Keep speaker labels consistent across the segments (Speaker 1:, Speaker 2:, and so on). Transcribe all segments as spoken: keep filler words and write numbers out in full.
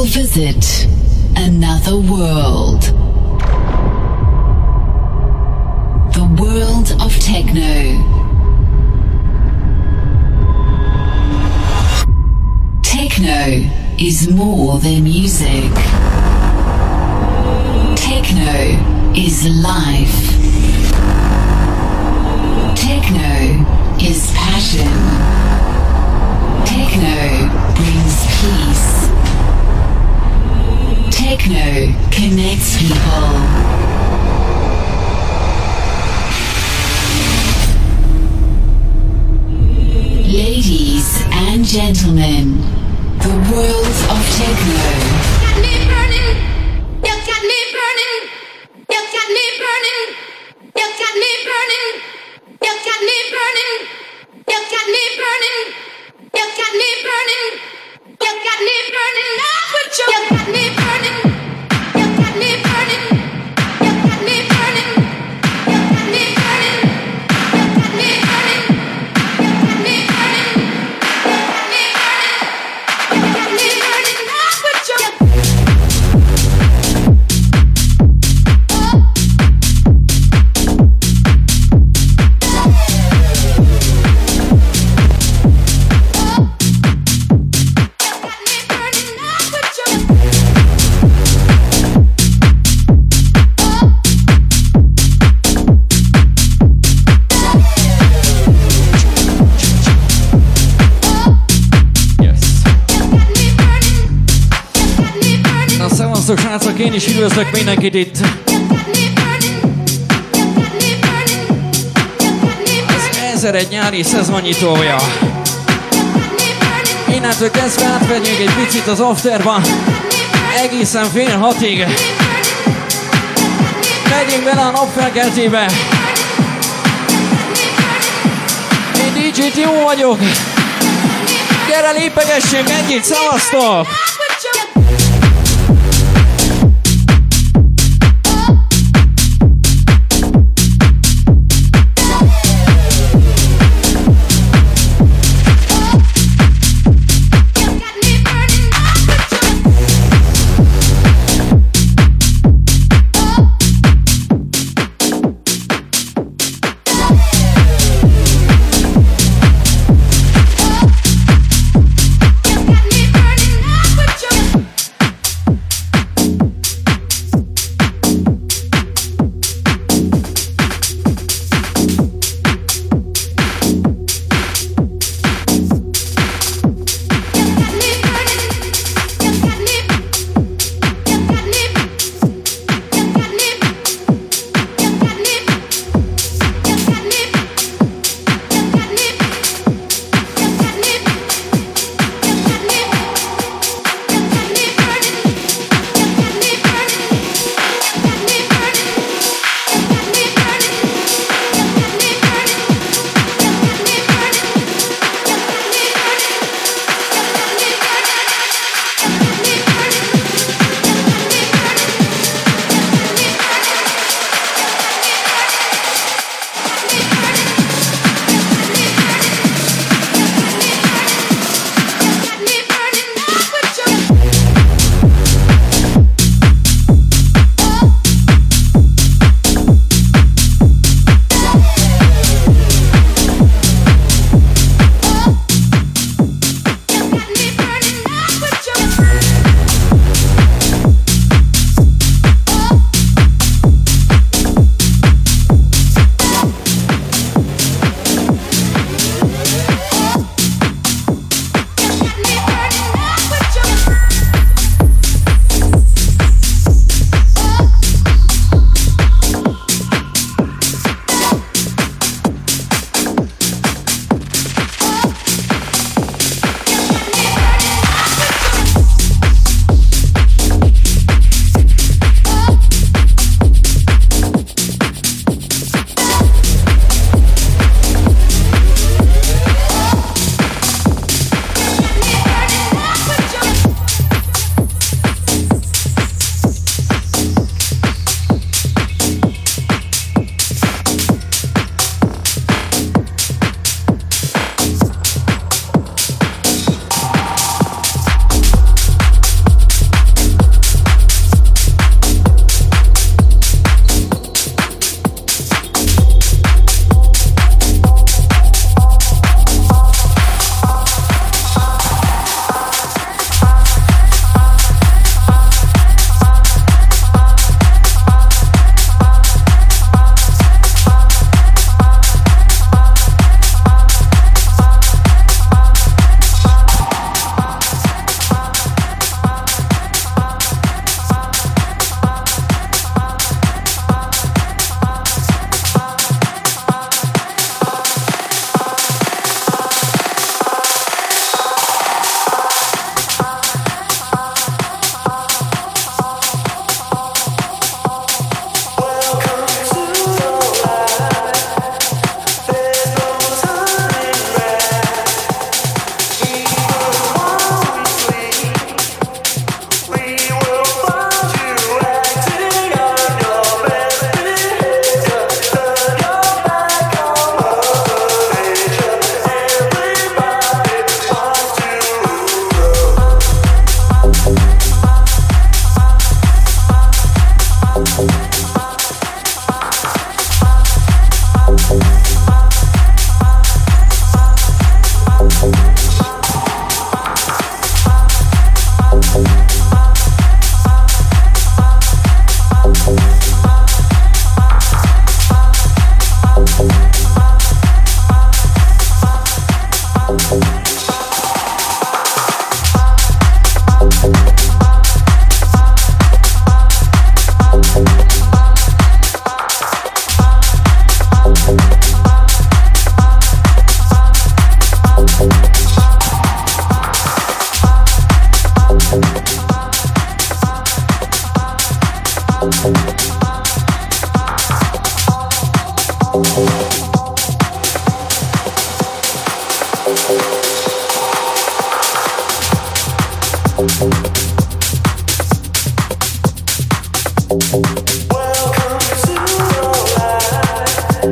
Speaker 1: will visit another world. The world of techno. Techno is more than music. Techno is life. Techno is passion. Techno brings peace. Techno connects people. Ladies and gentlemen, the world of techno.
Speaker 2: Got me burning. You got me burning. You got me burning. You got me burning. You got me burning. You got me burning. You got me burning. You got me burning. Up with you. You got me burning. You got me burning. You got me burning. You got me burning. You got me burning. You got me burning. You got me burning. You got me burning. Up with you.
Speaker 3: Sziasztok srácok, én is üdvözlök mindenkit itt. Az ezeregy nyári szezonnyitója. Innentől kezdve átvenjünk egy picit az afterba, egészen fél hatig. Megyünk bele a napfelkeltébe. Én dé dzsé Timo vagyok. Gyere lépegessünk együtt, szavaztok!
Speaker 2: Got me burning up.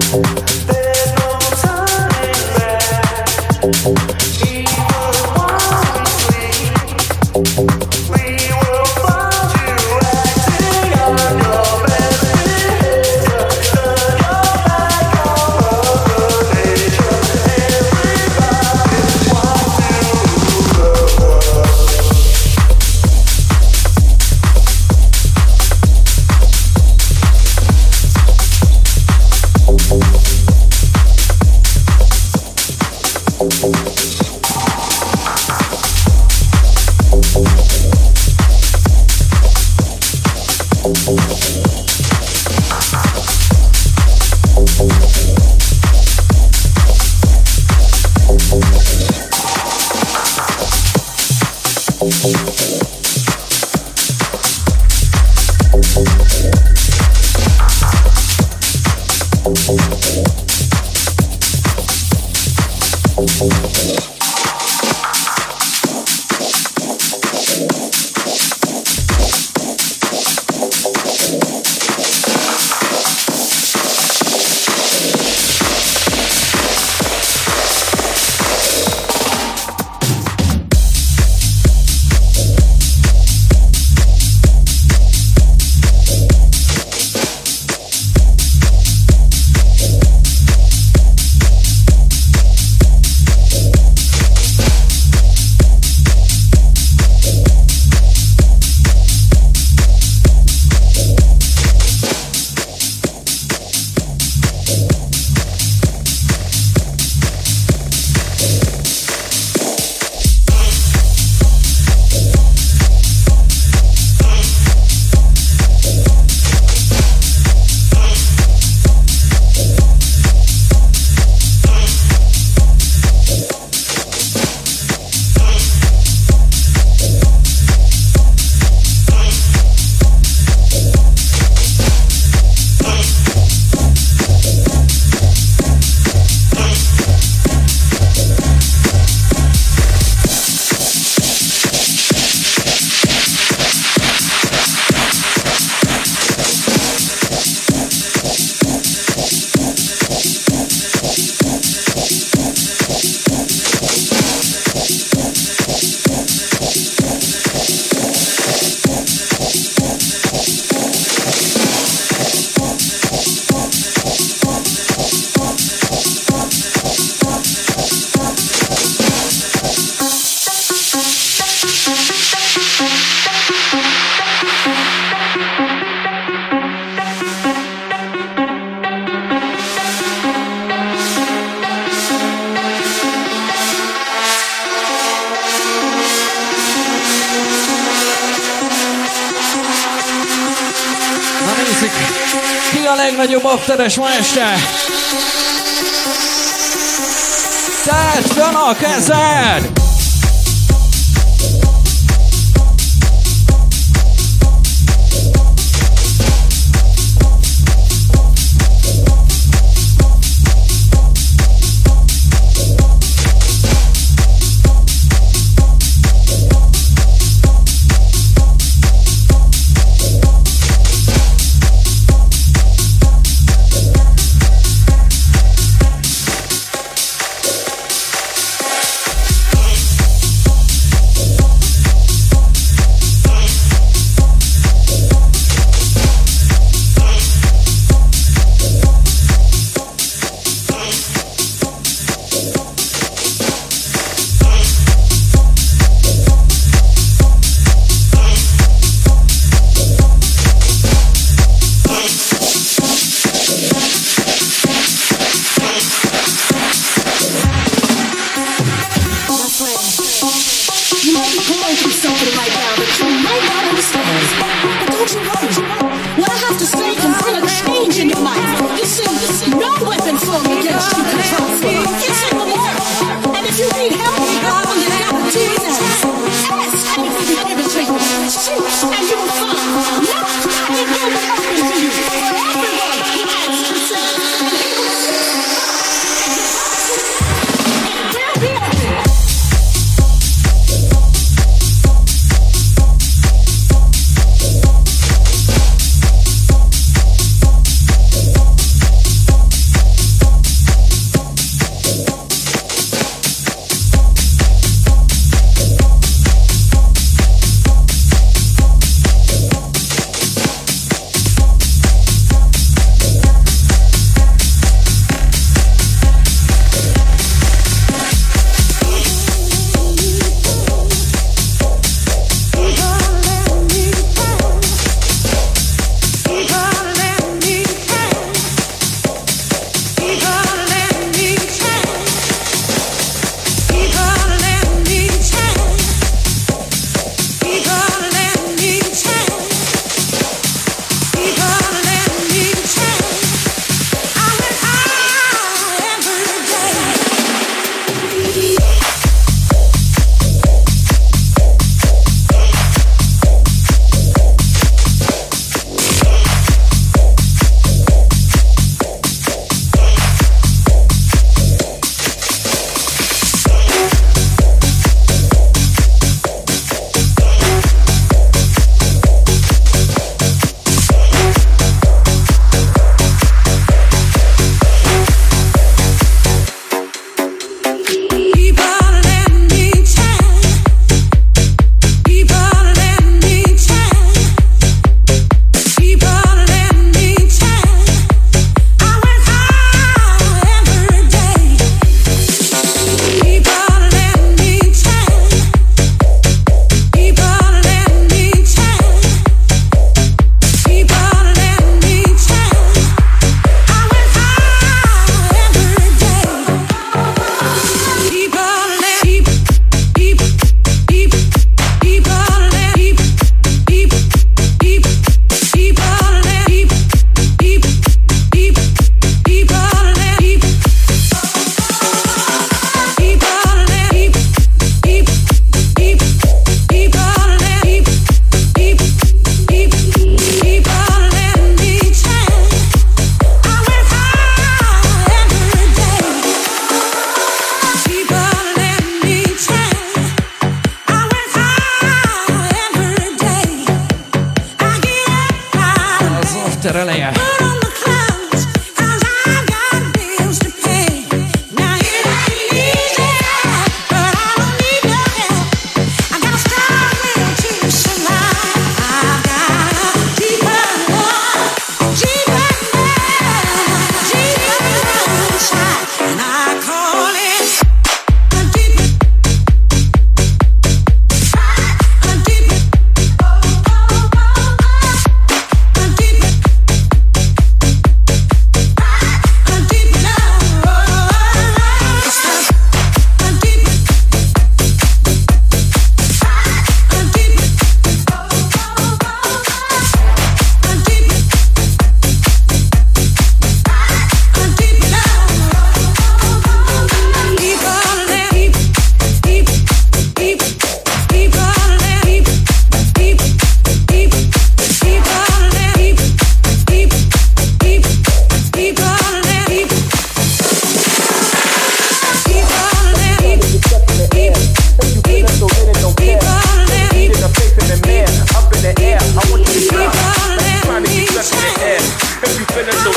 Speaker 3: Legnagyobb afteres ma este. Tedd fönn a kezed!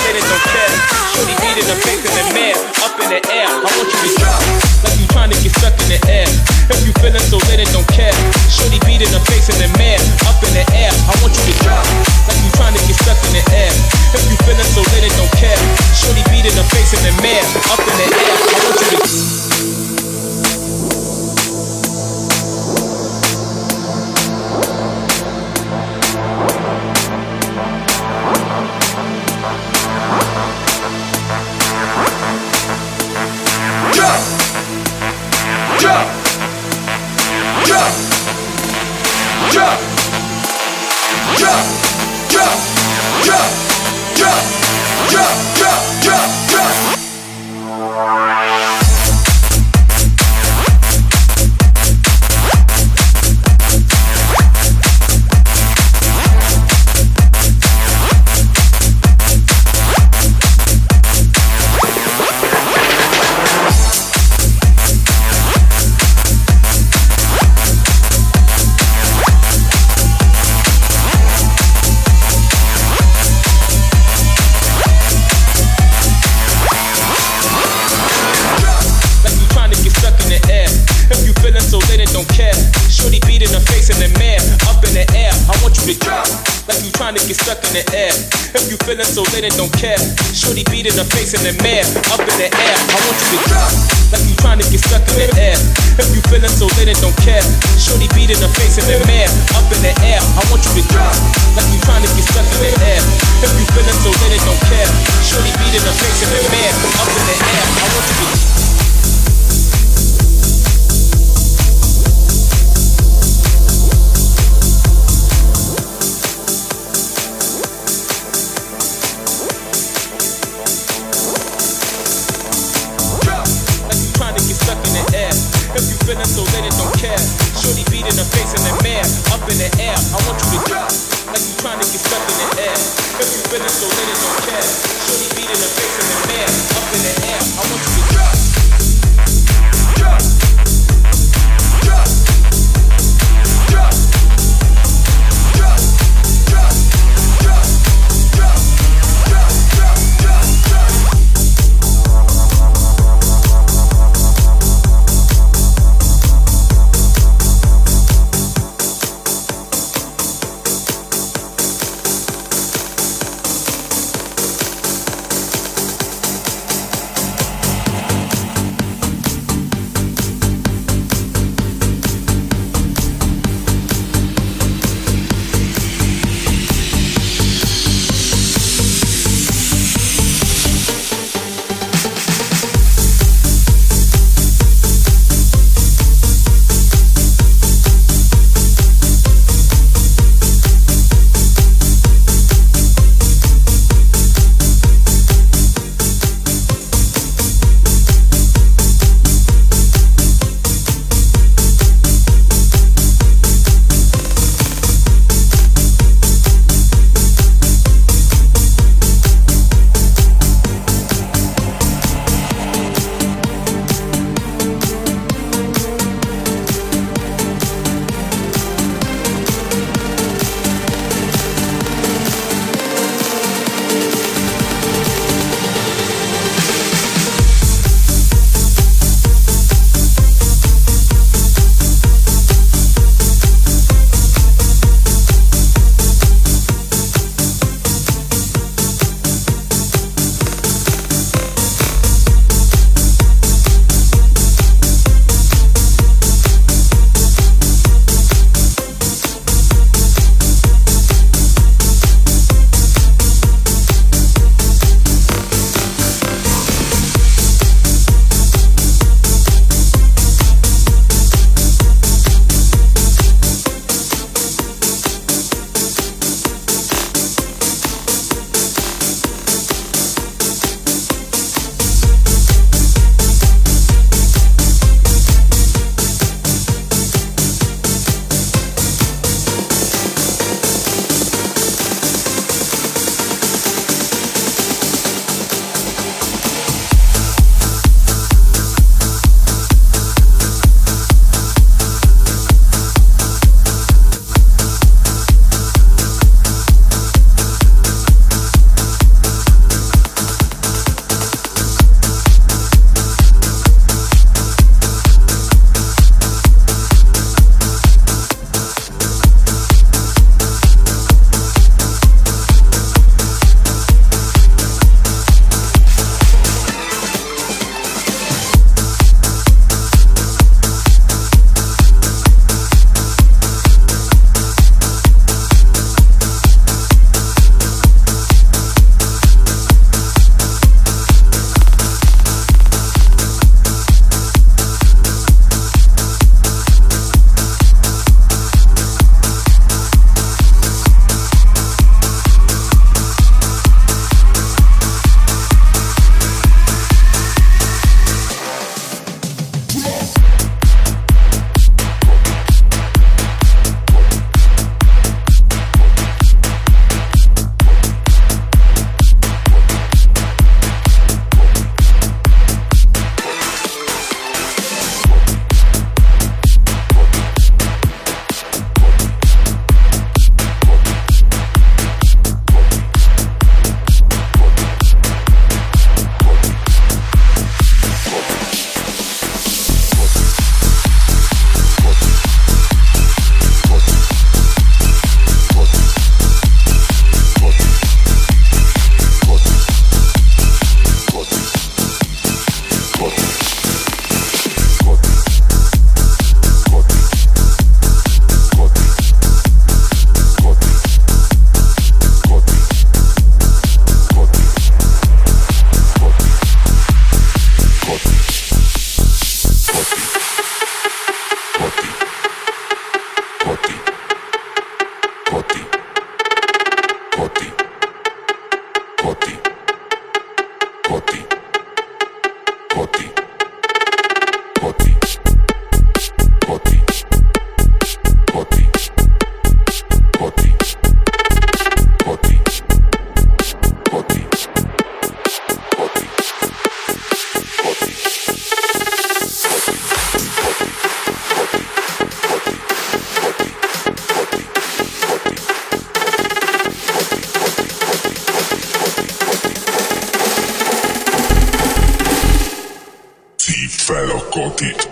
Speaker 4: later, don't care. Shorty beat in the face in the mirror, up in the air. I want you to drop like you trying to get stuck in the air. If you feeling so later, don't care. Shorty beat in the face in the mirror, up in the air. I want you to drop like you trying to get stuck in the air. If you feeling so later, don't care. Shorty beat in the face in the mirror, up in the air. I want you to. So late and don't care. Shorty beat in the face in the mirror, up in the air. I want you to drop like you trying to get stuck in the air. If you feeling so late and don't care. Shorty beat in the face in the mirror, up in the air. I want you to drop like you trying to get stuck in the air. If you feeling so late and don't care. Shorty beat in the face in the mirror, up in the air. I want you to. Feeling so late and don't care. Shorty beat in the face in the mirror, up in the air. I want you to drop like you trying to get stuck in the air. If you feeling so late and don't care. Shorty beat in the face in the mirror, up in the air. I want you to drop. Drop. Drop. Drop. Drop. Drop. Drop. Drop. Drop. Drop. Drop.
Speaker 5: Szív fel a kotit.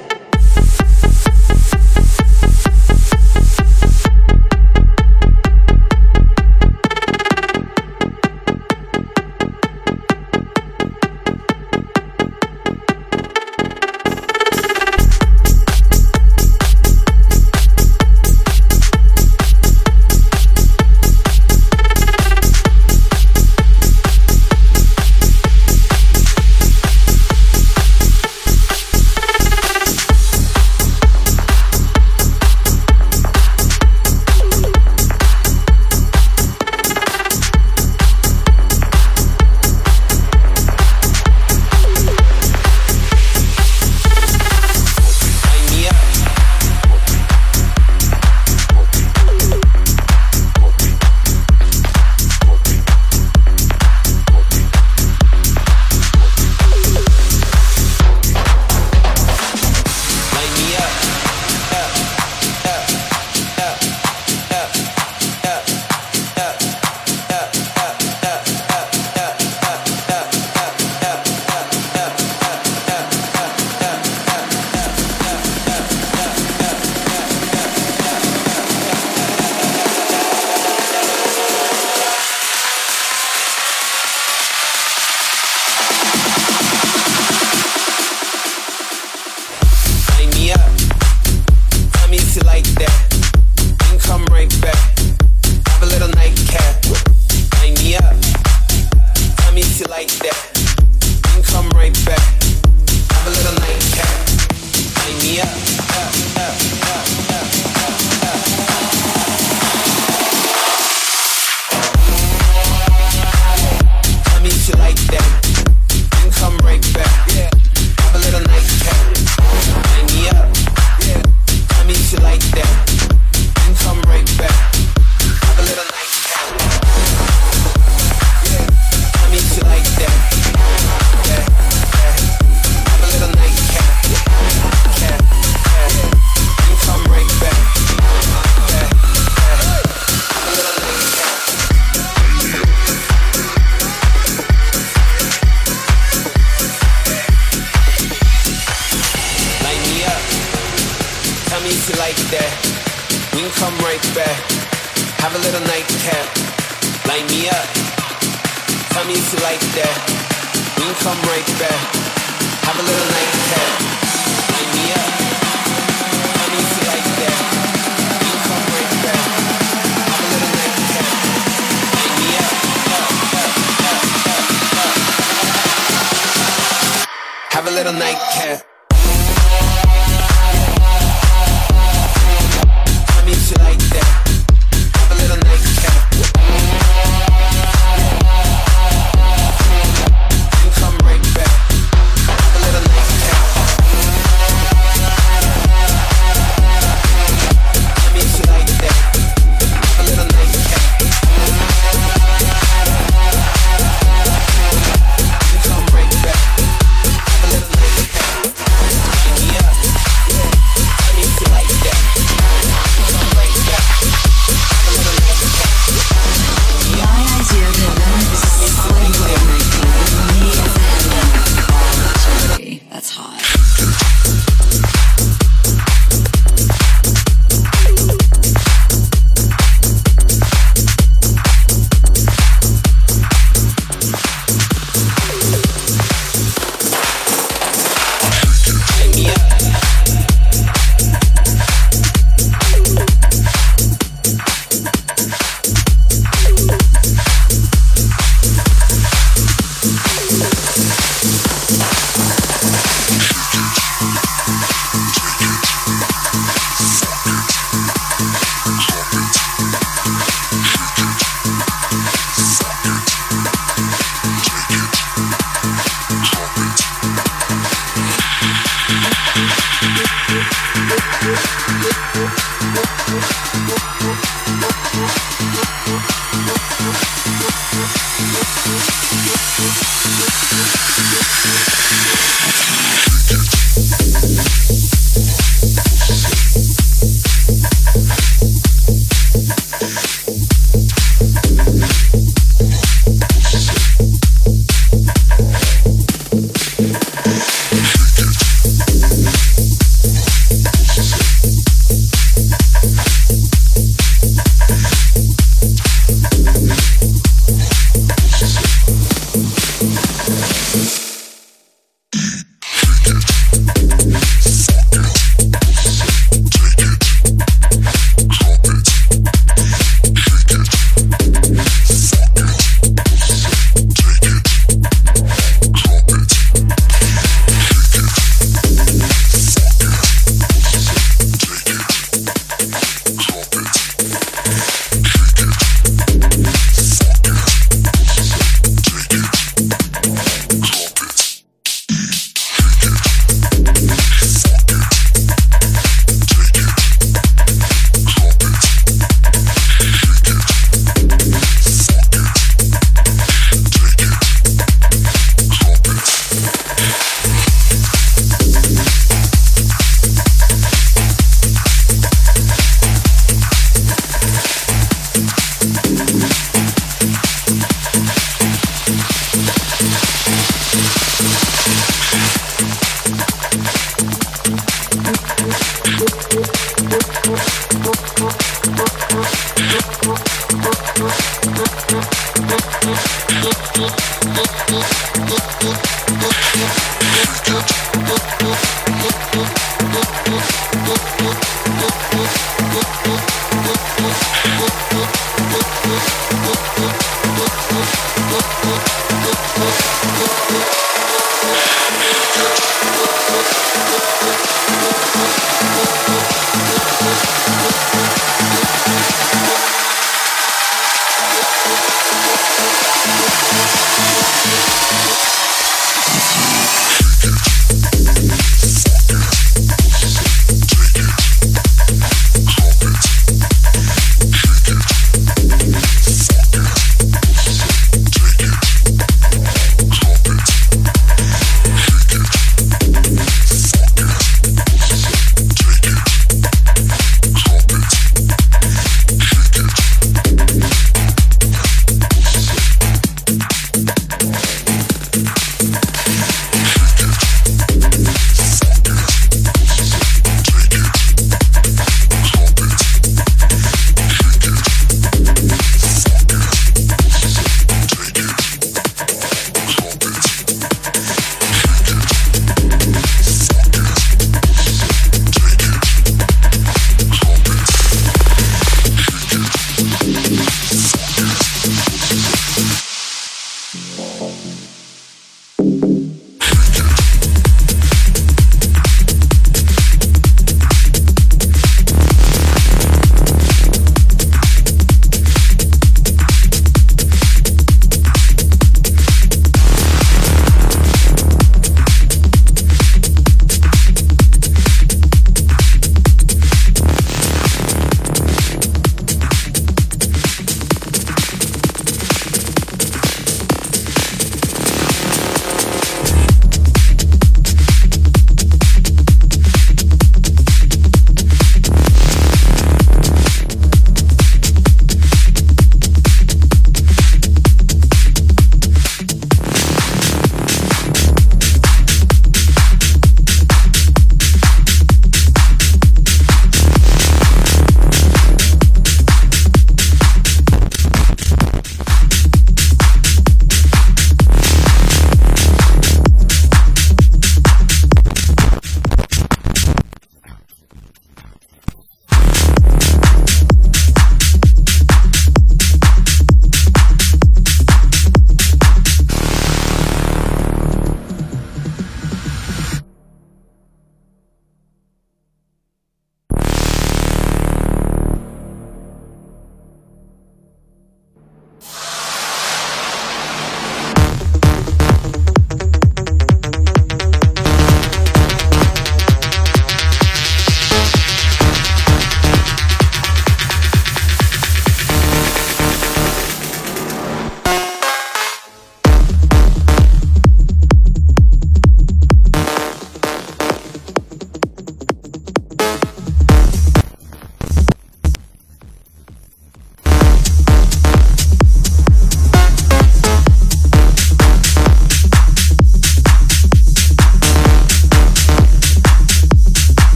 Speaker 5: Take it.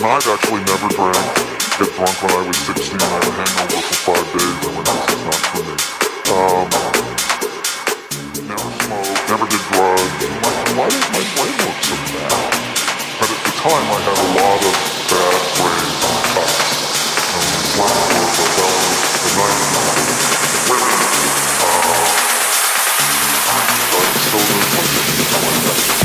Speaker 5: I've actually never drank. Get drunk when I was sixteen. I had a hangover for five days. I went, this is not for me. Um, never smoked, never did drugs. Like, why does my brain look so bad? But at the time, I had a lot of bad brains and cuts. Um, one was a fellow, the night, women. Uh, so I still live like this, like that.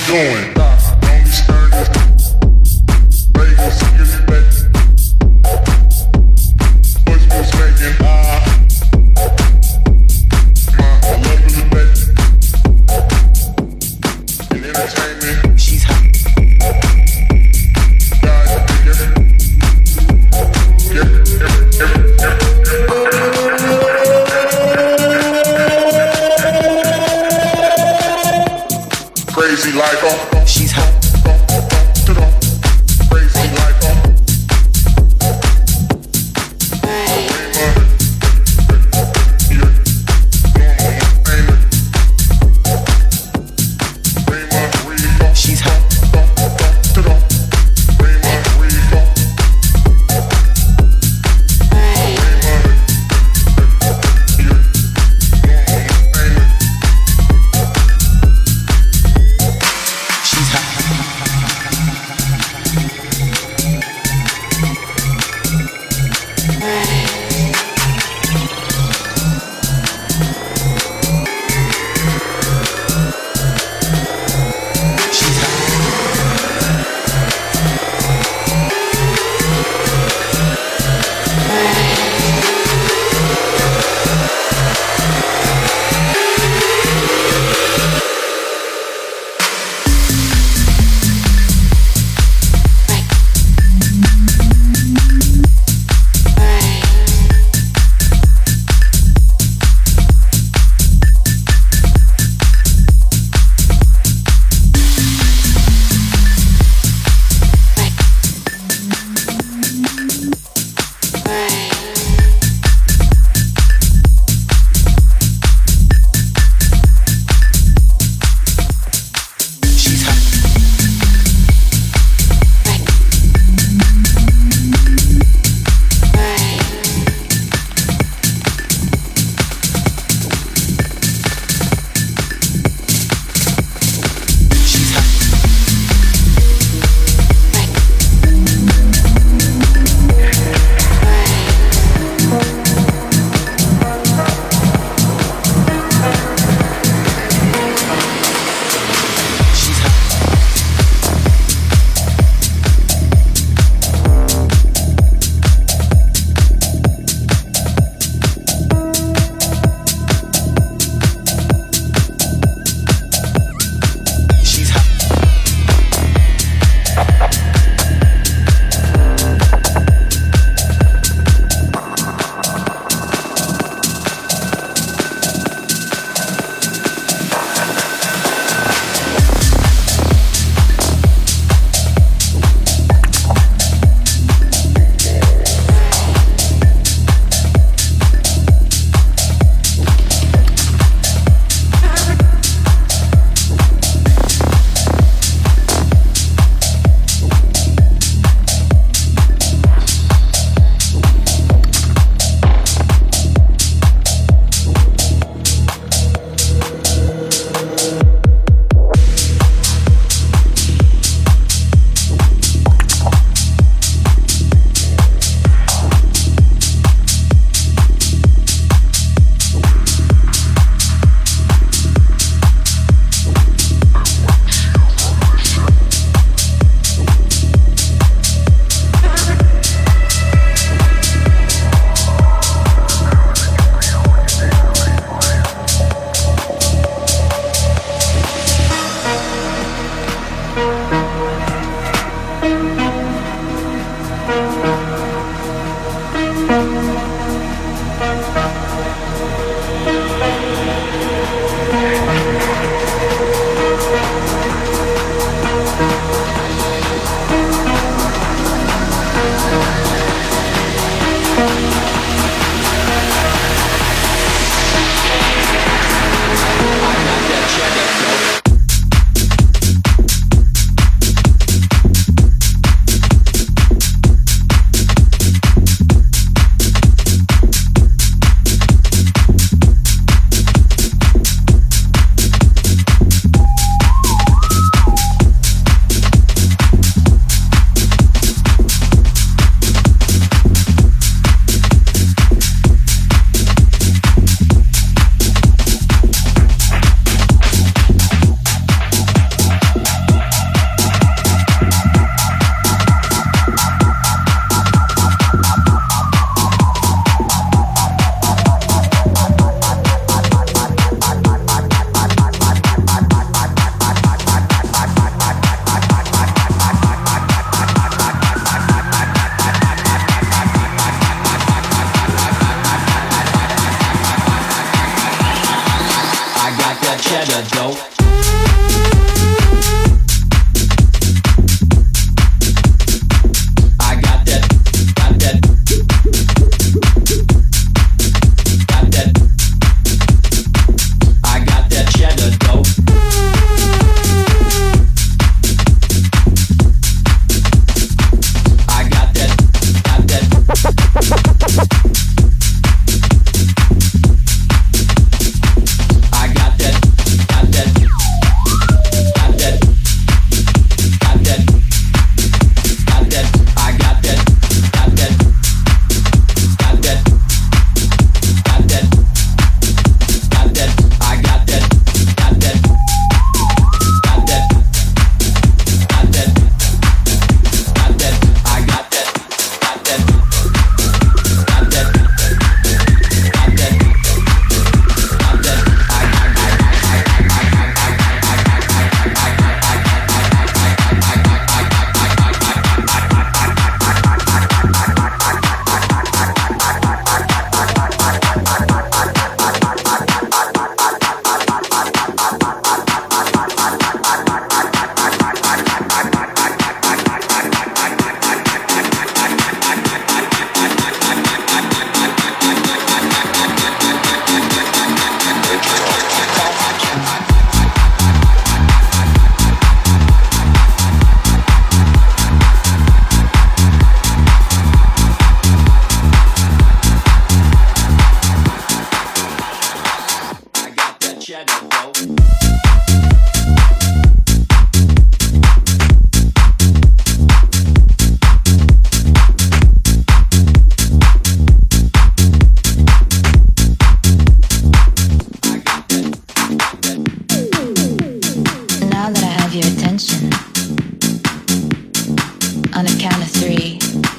Speaker 5: doing? Don't be scared. Vegas, get it back. Voice was making. Ah. My love in the back. In entertainment. She's hot. God, get it. Get it, get it, get it, get it. Crazy like her. She's hot. Crazy like her. She's hot.
Speaker 3: cheddar dough. I got that, got that, got that. I got that cheddar dough. I got that, got that. I got that, got that, got that, got that, got that. I got that, got that, got that, got that, got that. I got that, got that, got that, got that, got that. I got that, got that, got that, got that, got that. I got that cheddar dough.
Speaker 6: Now that I have your attention, on a count of three,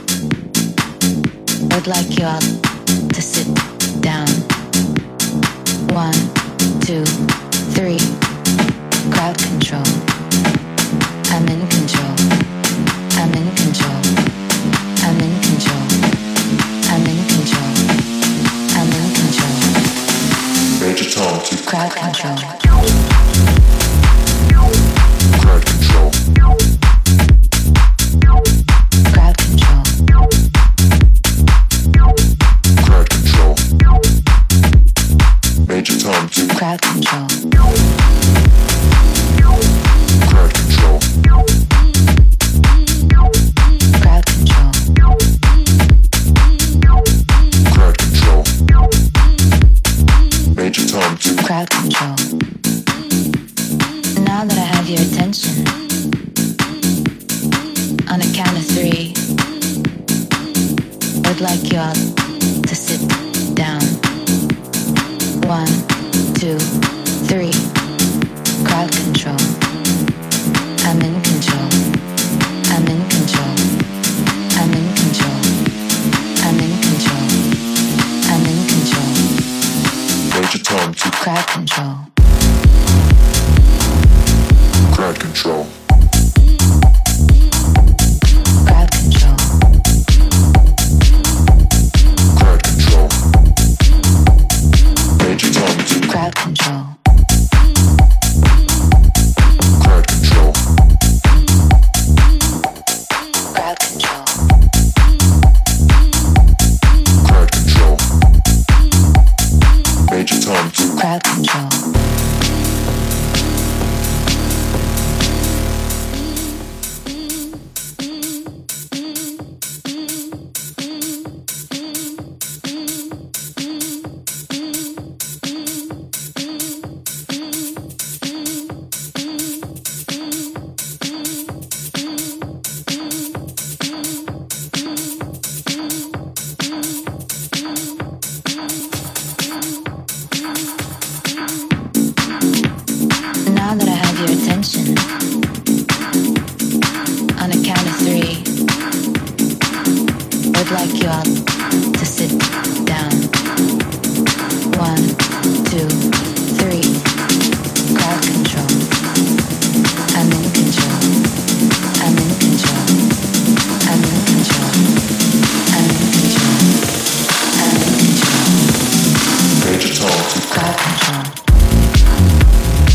Speaker 6: I would like you all to sit down. One, two, three. Crowd control. I'm in control. I'm in control. I'm in control. I'm in control. I'm in control.
Speaker 5: Major Tom to
Speaker 6: Crowd control.
Speaker 5: crowd control.
Speaker 6: Crowd control.
Speaker 5: Crowd control. Major Tom to
Speaker 6: Crowd control.
Speaker 5: crowd control.
Speaker 6: Crowd control.
Speaker 5: Crowd control. Major Tom to
Speaker 6: Crowd control. Now that I have your attention, on a count of three, I would like you all to sit down. One, two, three. Crowd control. I'm in control. I'm in control. I'm in control. I'm in control. I'm in control.
Speaker 5: Major Tom to
Speaker 6: Crowd control.
Speaker 5: crowd control.
Speaker 6: Crowd control.
Speaker 5: Crowd control. Major Tom to
Speaker 6: Crowd control.
Speaker 5: crowd control.
Speaker 6: Crowd control.
Speaker 5: Crowd control. Major Tom to
Speaker 6: Crowd control. Now that I have your attention, on a count of three, I would like you all to sit down. One, two, three. Crowd control. I'm in control. I'm in control. I'm in control. I'm in control. I'm in control.
Speaker 5: Major Tom to
Speaker 6: Crowd control.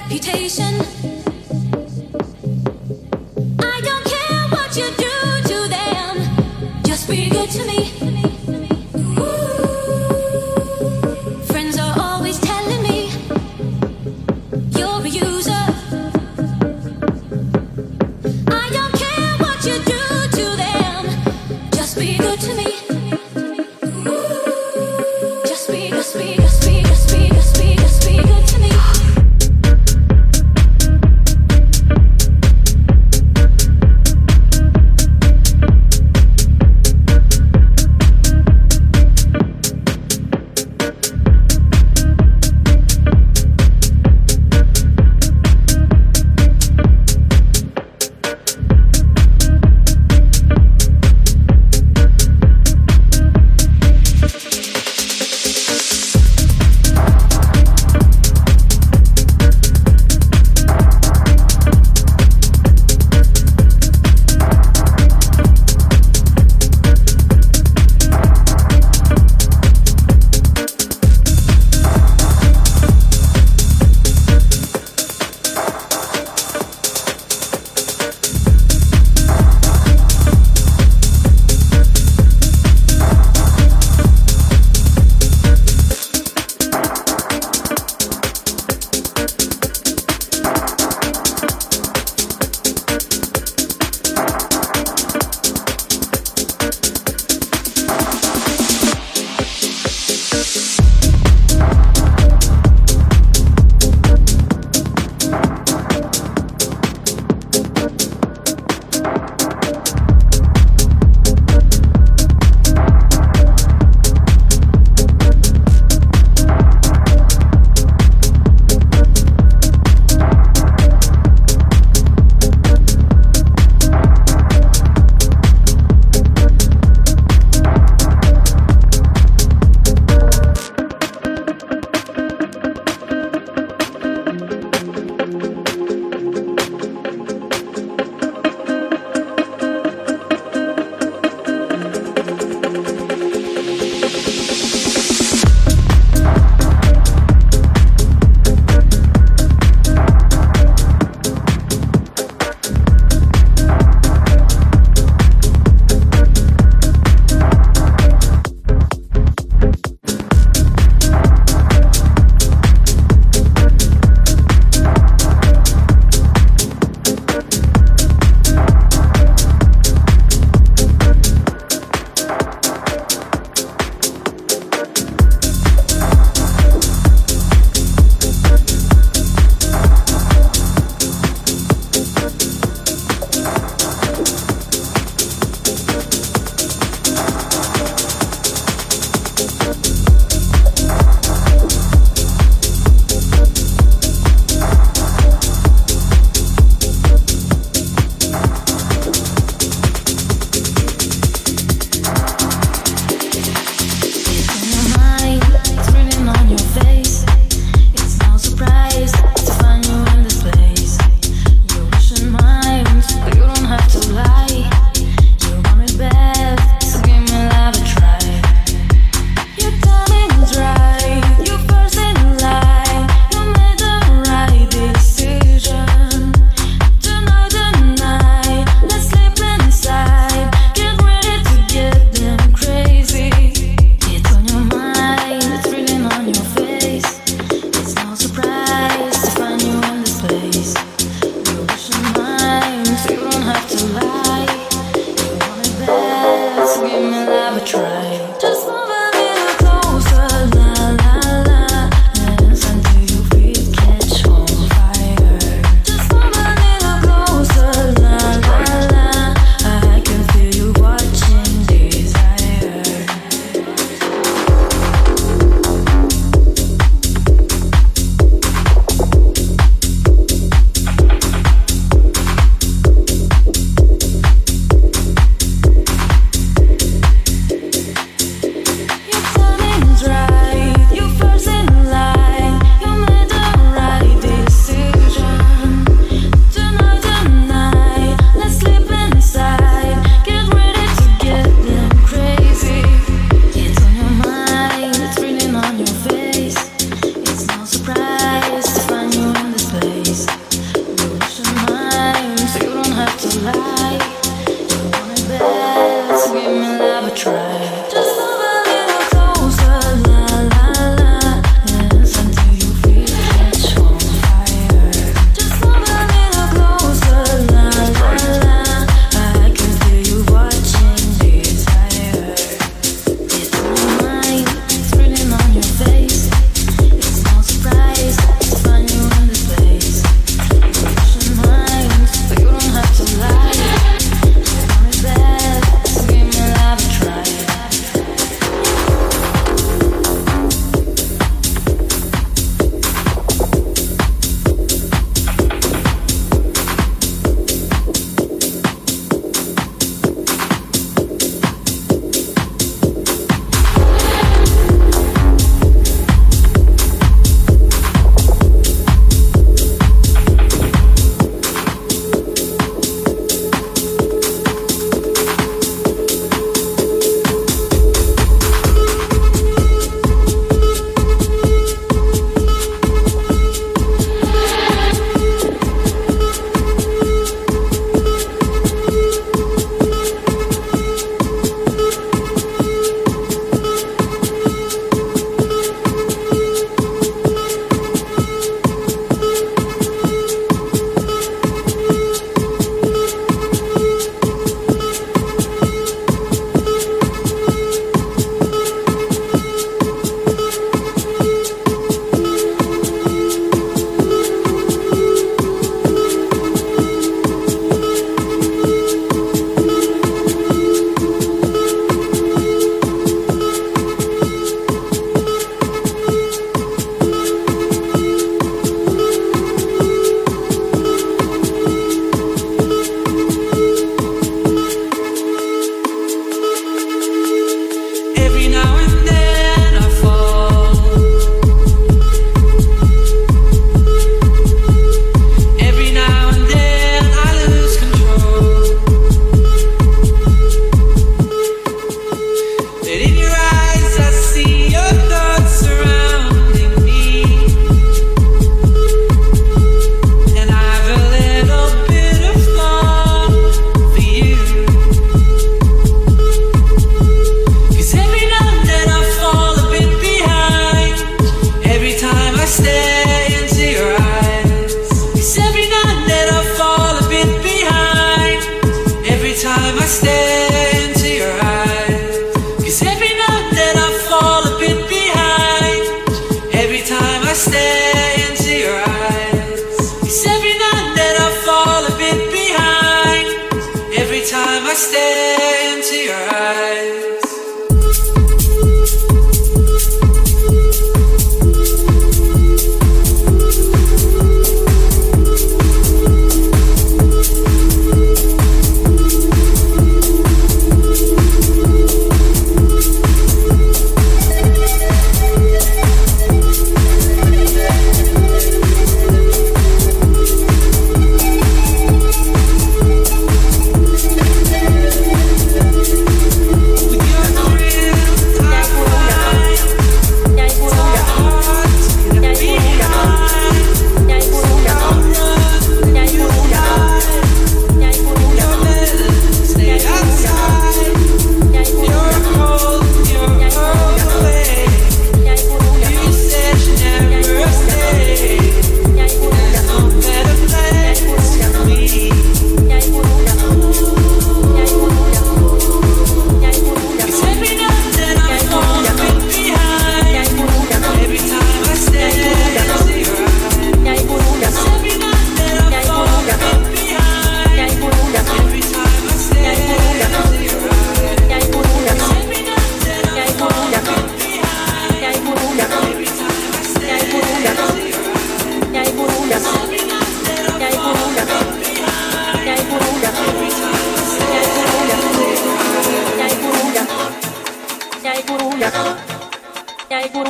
Speaker 2: reputation. I don't care what you do to them, just be good to me. Friends are always telling me you're a user. I don't care what you do to them, just be good to me. Just be, just be, just be, just be, just be, just be good to me.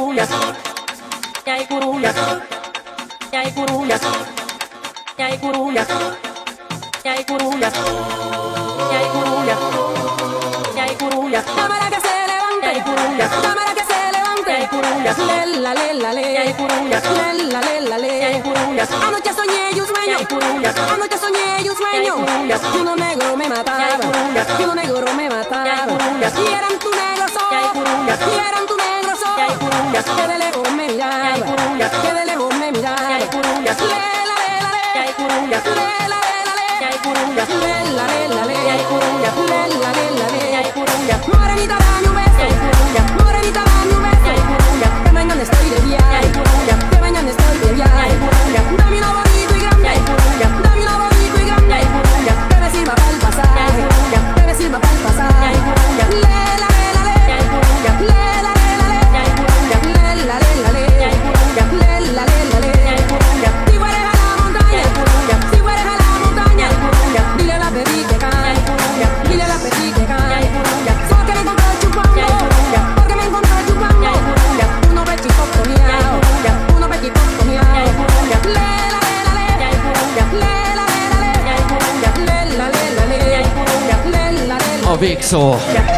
Speaker 7: kuruja, jäi kuruja, jäi kuruja, jäi kuruja, jäi kuruja, jäi kuruja, jäi kuruja. Cámara que se levante, jäi kuruja, cámara que se levante, jäi kuruja, lella lella le, jäi kuruja, lella lella le, jäi kuruja. Anoche soñé y un sueño, jäi kuruja, anoche soñé y un sueño, y uno negro me mataba, y uno negro me mataba, y eran tu negro sol, y eran tu negro sol, que de lejos me miraba, que de lejos me miraba, lela lela le, lela lela le, lela lela le, lela lela le, morenita dame un beso, morenita dame un beso, que mañana estoy de viaje, que mañana estoy de viaje, dame un bonito y grande, dame un bonito y grande, que me sirva para el pasaje, que me sirva para el pasaje, lela lela le, lela lela le, lela lela le, lela lela le, si fueres a la montaña, si fueres a la montaña, dile a la petit que cae, dile a la petit que cae, porque me encontró chupando, porque me encontró chupando, uno pechito comiao, uno pechito comiao, lela lela le, lela lela le, lela lela le, lela lela.
Speaker 8: A végszó.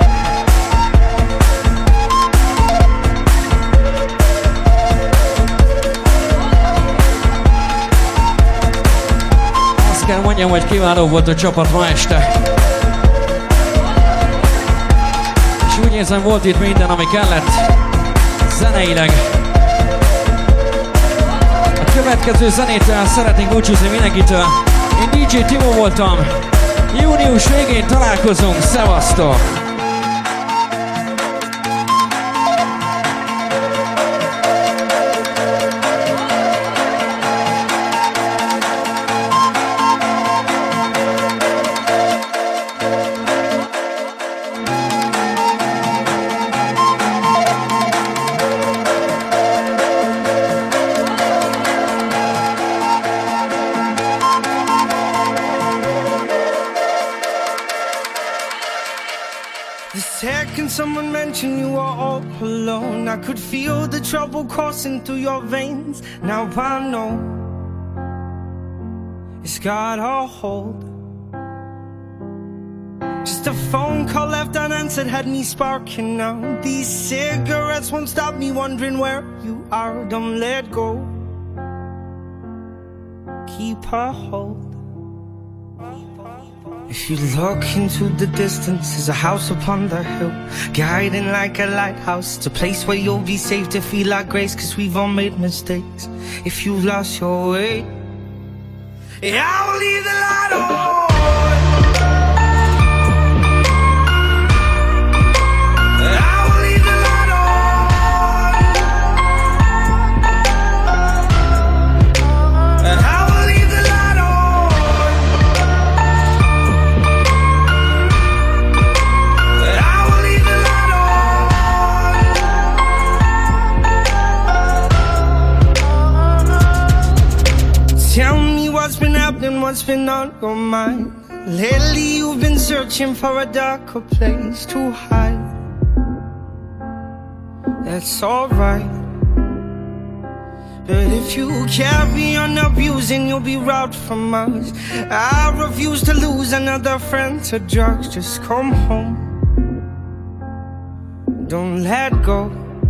Speaker 8: Azt kell mondjam, hogy kiváló volt a csapat ma este. És úgy érzem, volt itt minden, ami kellett zeneileg. A következő zenétől szeretnénk búcsúzni mindenkitől. Én dé dzsé Timo voltam. Június végén találkozunk. Szevasztok!
Speaker 9: Someone mentioned you were all alone. I could feel the trouble coursing through your veins. Now I know it's got a hold. Just a phone call left unanswered had me sparking now. These cigarettes won't stop me wondering where you are. Don't let go. Keep a hold. If you look into the distance, there's a house upon the hill, guiding like a lighthouse. It's a place where you'll be safe to feel like grace, cause we've all made mistakes. If you've lost your way, yeah, I'll leave the light on. Tell me what's been happening, what's been on your mind. Lately you've been searching for a darker place to hide. That's alright, but if you carry on abusing, you'll be robbed from us. I refuse to lose another friend to drugs. Just come home, don't let go.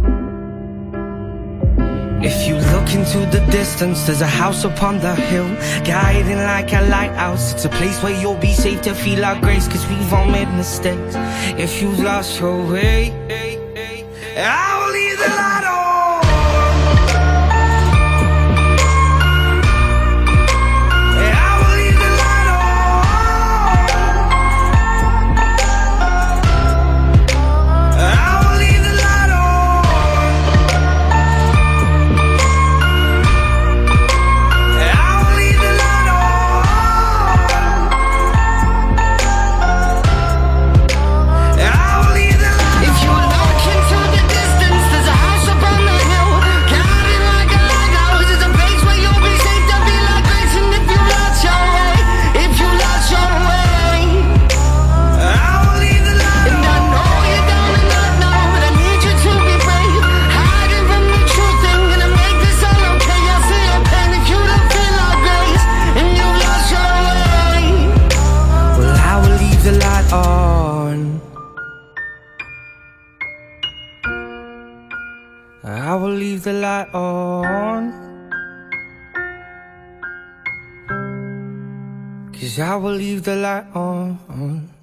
Speaker 9: If you look into the distance, there's a house upon the hill, guiding like a lighthouse. It's a place where you'll be safe to feel our grace, cause we've all made mistakes. If you've lost your way, I will leave the light on. If you look into the distance, I will leave the light on, 'cause I will leave the light on.